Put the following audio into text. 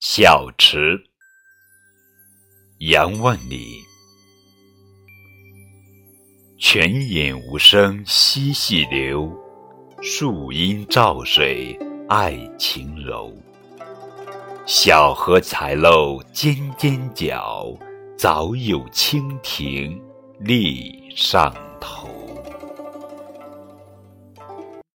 小池，杨万里。泉眼无声惜细流，树阴照水爱晴柔。小荷才露尖尖角，早有蜻蜓立上头。